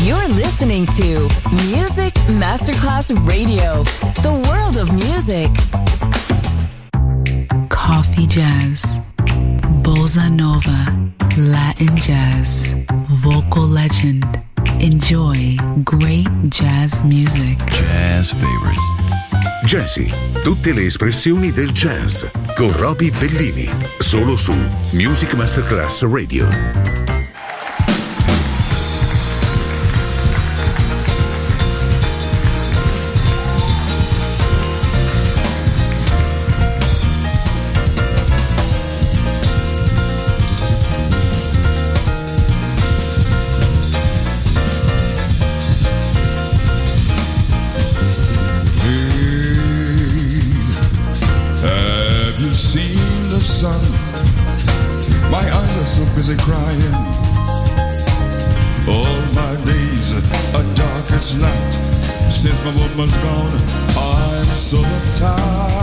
You're listening to Music Masterclass Radio, the world of music. Coffee jazz, bossa nova, Latin jazz, vocal legend. Enjoy great jazz music. Jazz favorites. Jazzy, tutte le espressioni del jazz con Roby Bellini, solo su Music Masterclass Radio. Busy crying. All my days are dark as night. Since my woman's gone, I'm so tired.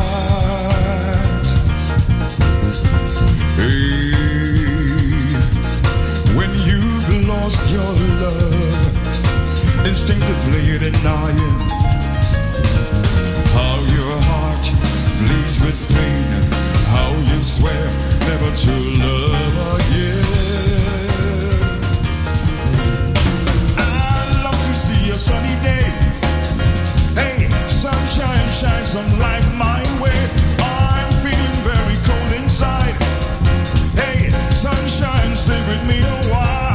Hey, when you've lost your love, instinctively denying how your heart bleeds with pain, how you swear never to love again. I love to see a sunny day. Hey, sunshine, shine some light my way. I'm feeling very cold inside. Hey, sunshine, stay with me a while.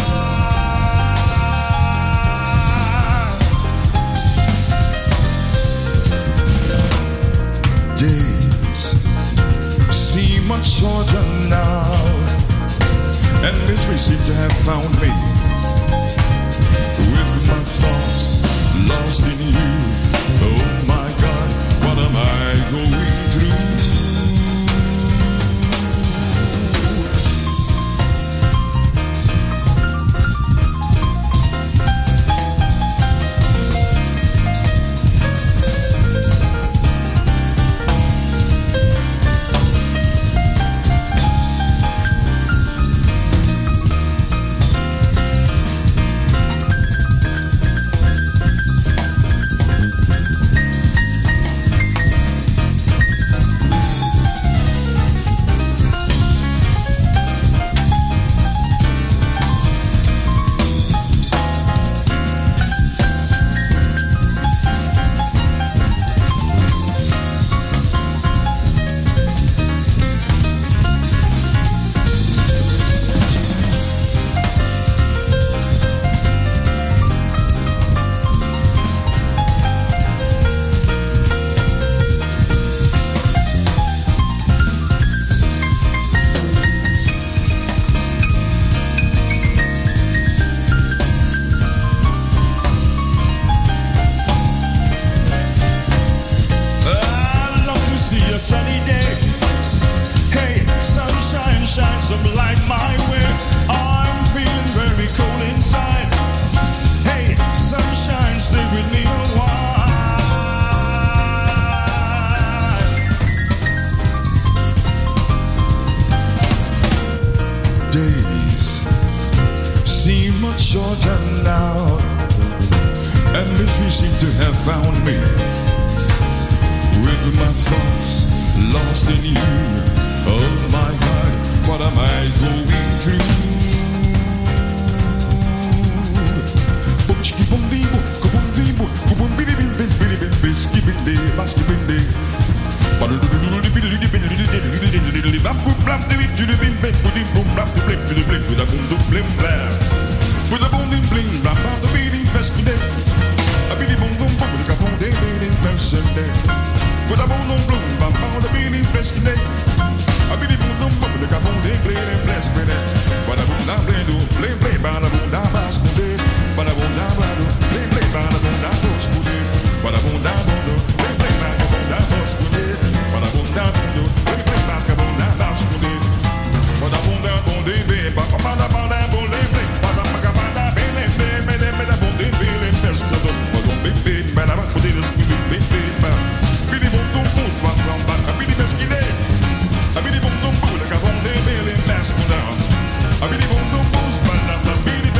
Days seem much shorter now, and misery seemed to have found me, with my thoughts lost in you. Oh my God, what am I going through? I really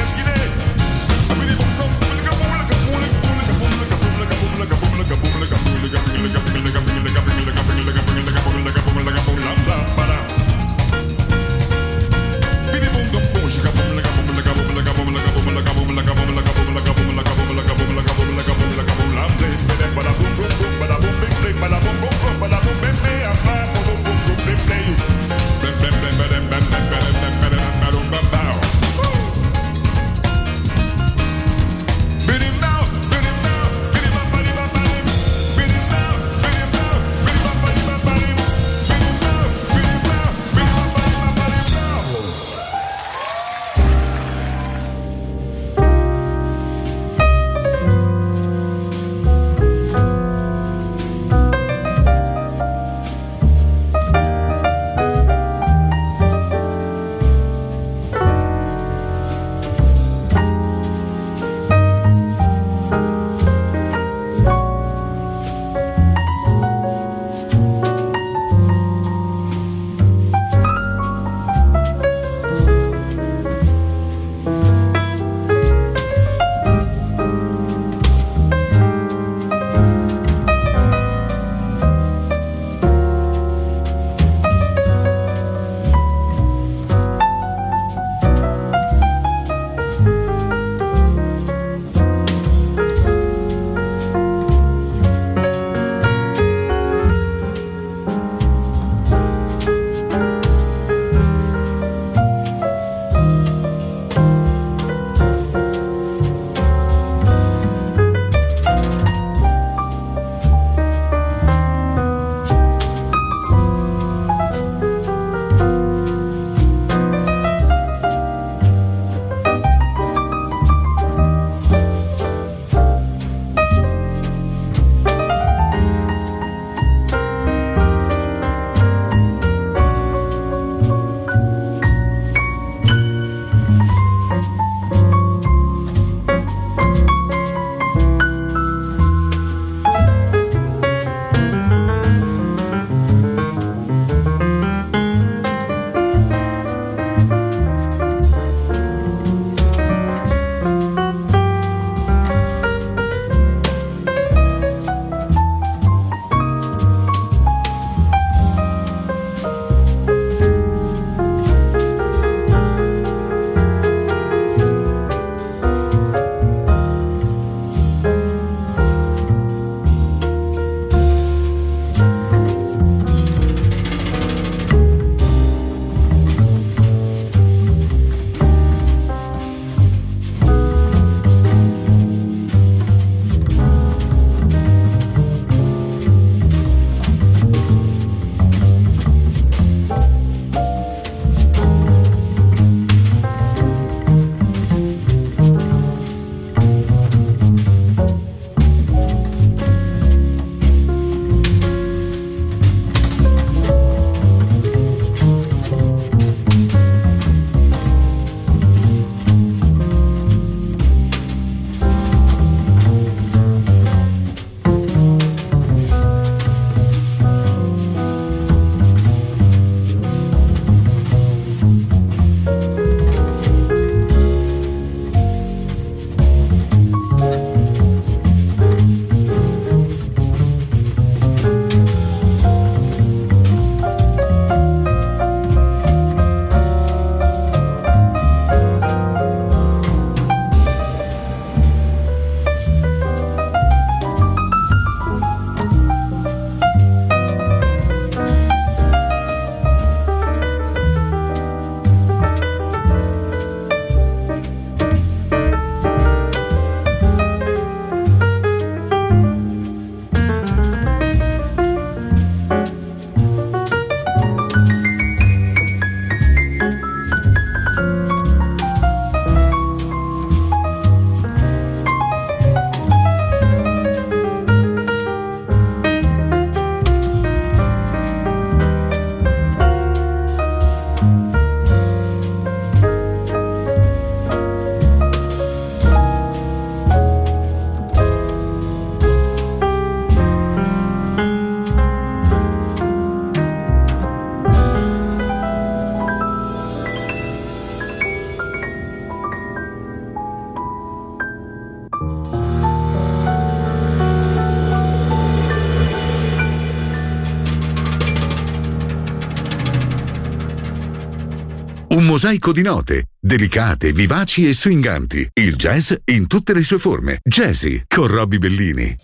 Un mosaico di note, delicate, vivaci e swinganti. Il jazz in tutte le sue forme. Jazzy con Robbie Bellini.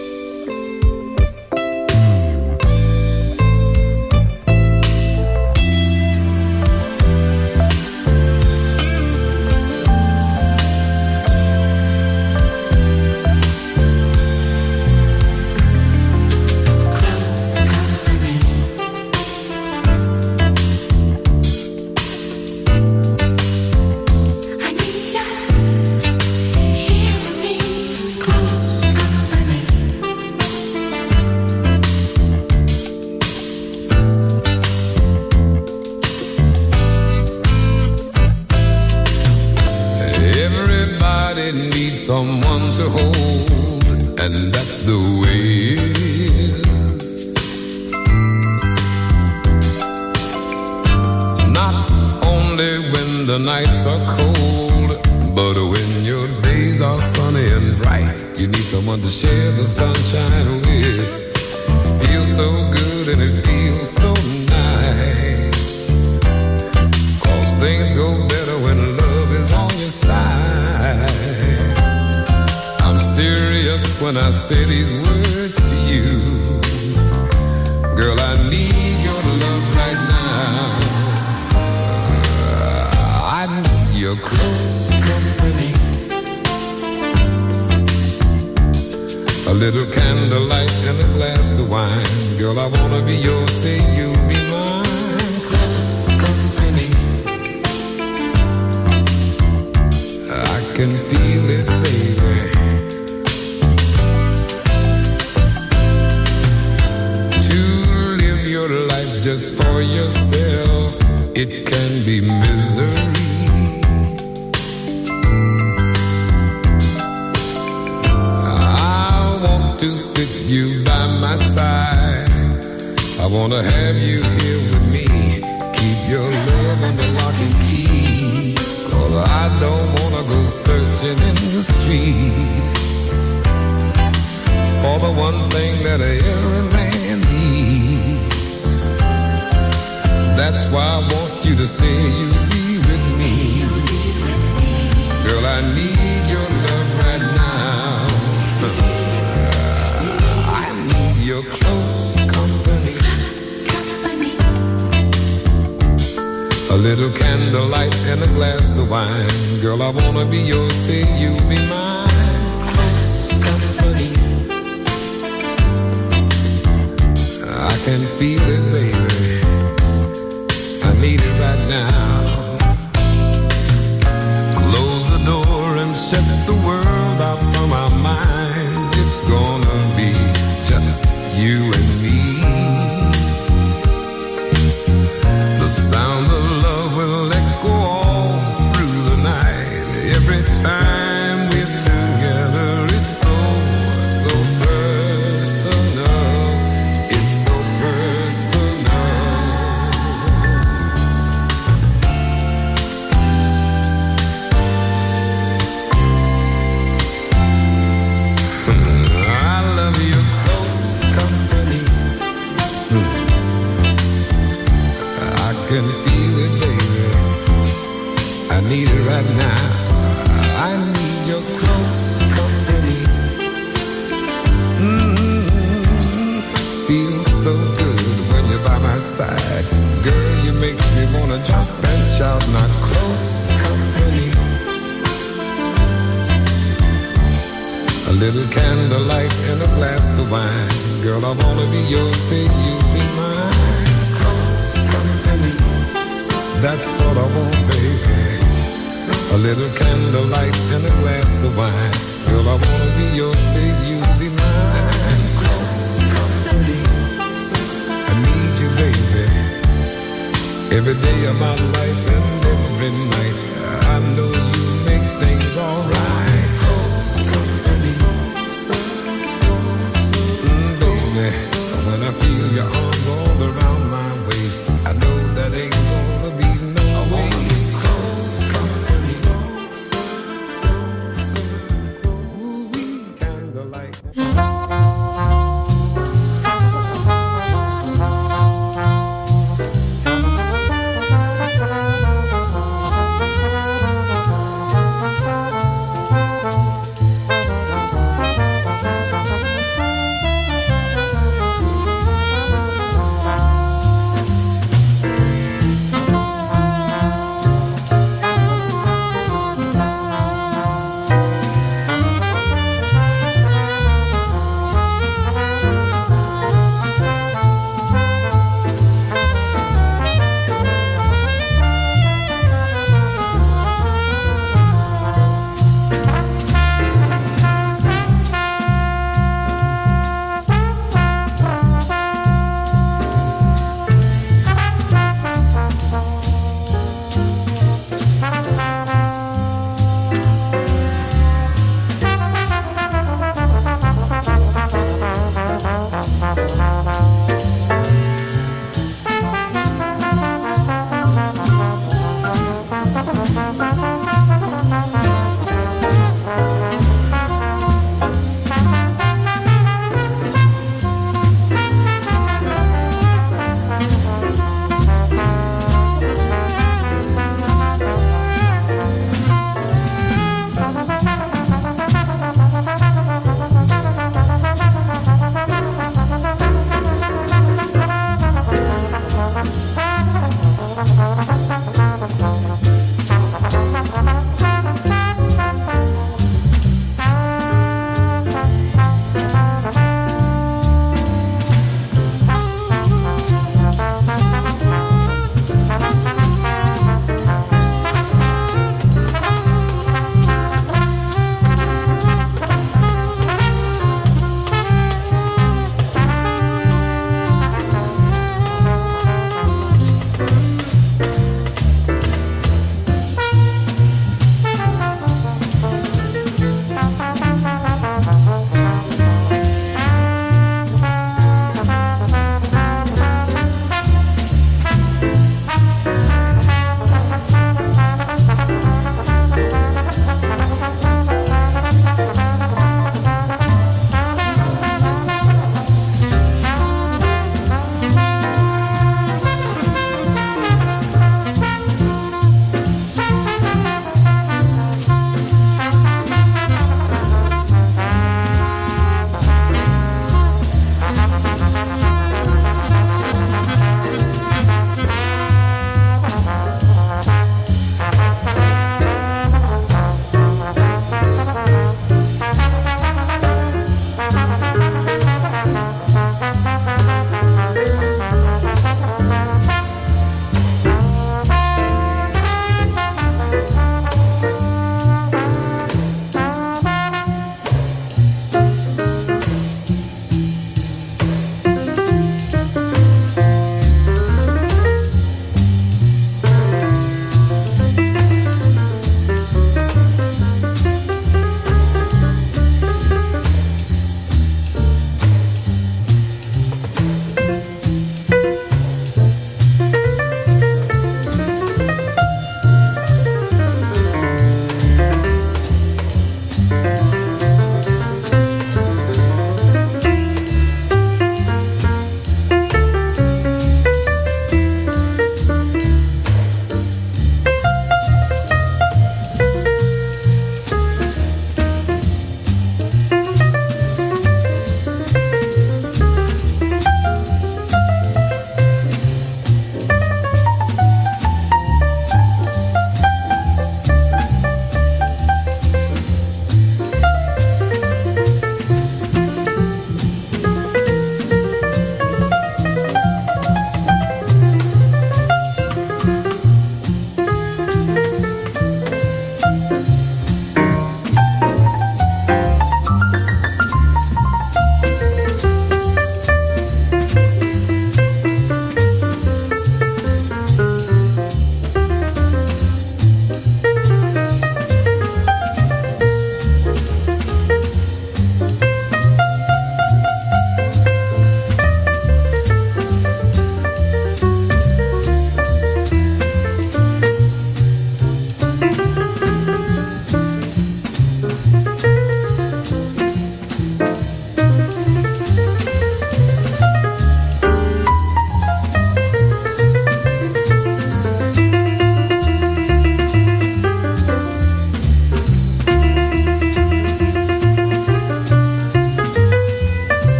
Someone to hold, and that's the way it is. Not only when the nights are cold, but when your days are sunny and bright. You need someone to share the sunshine with. Feels so good and it feels so nice, 'cause things go better when love is on your side. I'm serious when I say these words to you. Girl, I need your love right now. I need your close company. A little candlelight and a glass of wine. Girl, I wanna be yours, say you be mine. Close company. I can feel it, baby. Just for yourself, it can be misery. I want to sit you by my side. I want to have you here with me. Keep your love under lock and key, 'cause I don't want to go searching in the street for the one thing that every man needs. That's why I want you to say you'll be with me. Girl, I need your love right now. I need your close company. A little candlelight and a glass of wine. Girl, I wanna be yours, say you'll be mine. Close company. I can feel it, baby. I need it right now. Close the door and shut the world out from our minds. It's gonna be just you and me. The sound of love will echo all through the night. Every time we're together, it's so personal. It's so personal. Can feel it, baby. I need it right now. I need your close company. Feels so good when you're by my side. Girl, you make me wanna jump and shout. Not close company. A little candlelight and a glass of wine. Girl, I wanna be yours, say you be mine. That's what I want, baby. A little candlelight and a glass of wine. Girl, I wanna be yours, say you be mine. Close company. I need you, baby. Every day of my life and every night. I know you make things alright. Close company. Baby, when I feel your arms all around my waist, I know that ain't gonna be no waste. Close company. Candlelight.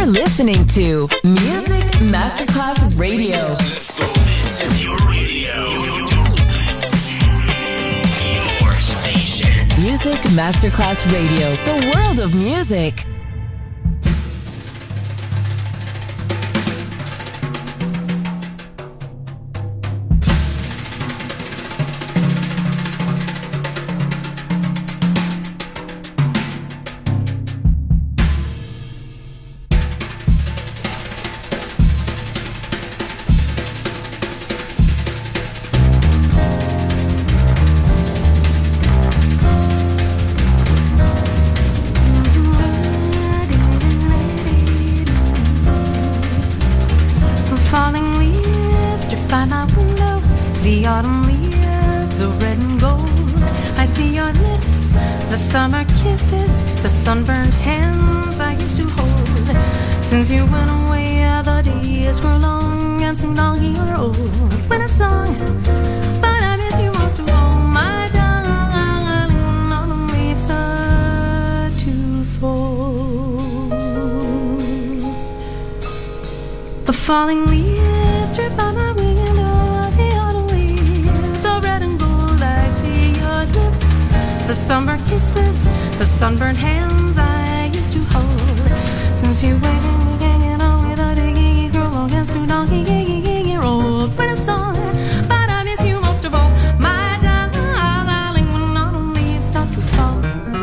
listening to Music Masterclass Radio. Let's go. This is your radio. Your station. Music Masterclass Radio. The world of music. Since you went away, the days were long and soon I'll hear old. When I sung, but I miss you most of all, my darling. When all the leaves start to fall, the falling leaves drip by my window. The autumn leaves are red and gold. I see your lips, the summer kisses, the sunburned hands I used to hold. Since you went hanging on with a diggy girl, long and soon I'll hear old. When it's on, but I miss you most of all, my darling. When autumn leaves start to fall.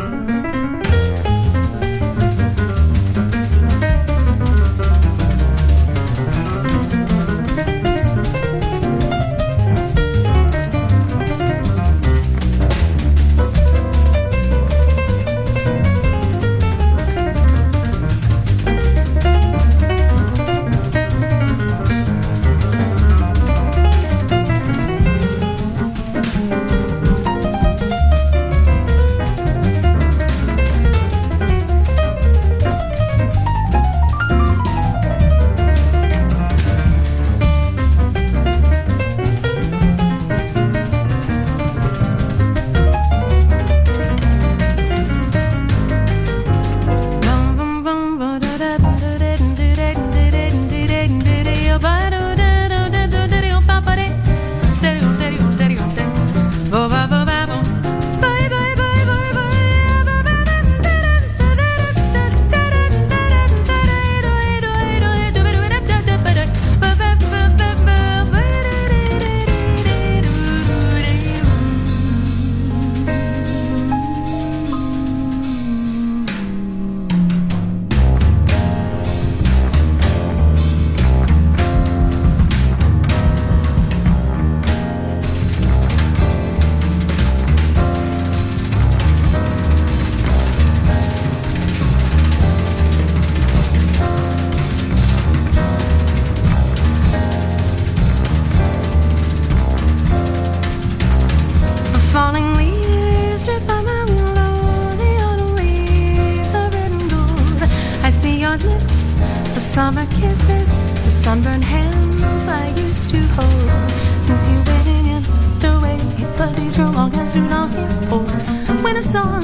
Summer kisses, the sunburned hands I used to hold. Since you went away, the days grow long and soon I'll hear old. When a song,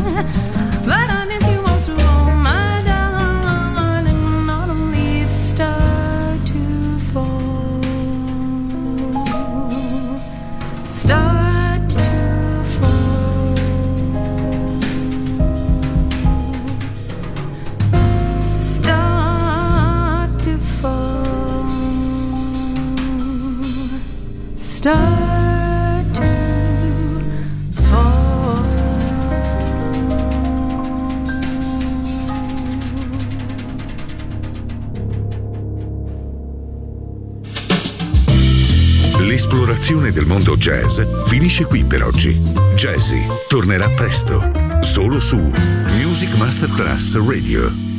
but I miss you most of all, my darling. Autumn leaves start to fall, start to fall, start to fall, start to fall. L'esplorazione del mondo jazz finisce qui per oggi. Jazzy tornerà presto, solo su Music Masterclass Radio.